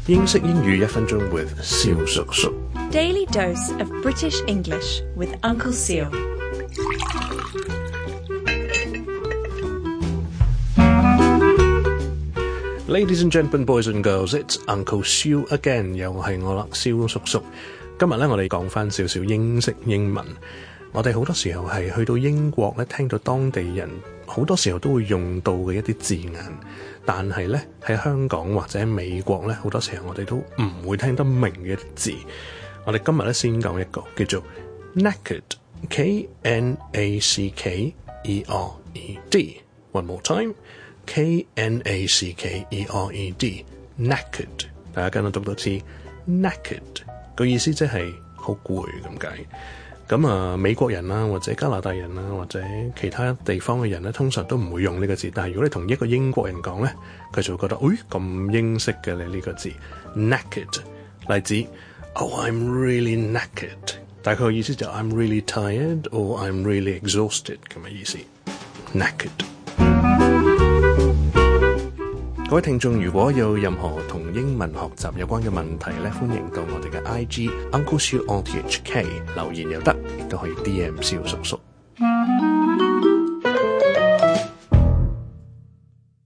英式英語1分鐘 with 蕭叔叔。 Daily dose of British English with Uncle Seal. Ladies and gentlemen, boys and girls, it's Uncle Seal again. 又係我啦，蕭叔叔。今日咧，我哋講翻少少英式英文。我哋好多時候係去到英國咧，聽到當地人好多時候都會用到嘅一啲字眼，但係咧喺香港或者美國咧，好多時候我哋都唔會聽得明嘅字。我哋今日咧先講一個叫做 Knackered, K-N-A-C-K-E-R-E-D。One more time, K-N-A-C-K-E-R-E-D, Knackered。大家跟我讀多次 Knackered， 個意思即係好攰咁解。咁美國人啦，或者加拿大人啦，或者其他地方嘅人咧，通常都唔會用呢個字。但係如果你同一個英國人講咧，佢就會覺得，咁英式嘅你呢個字 Knackered。例子 ，Oh, I'm really knackered。大概嘅意思就 I'm really tired or I'm really exhausted 咁嘅意思。Knackered。各位聽眾，如果有任何同英文學習有關嘅問題咧，歡迎到我哋嘅 IG Uncle Seal on THK 留言又得，亦都可以 DM 蕭叔叔。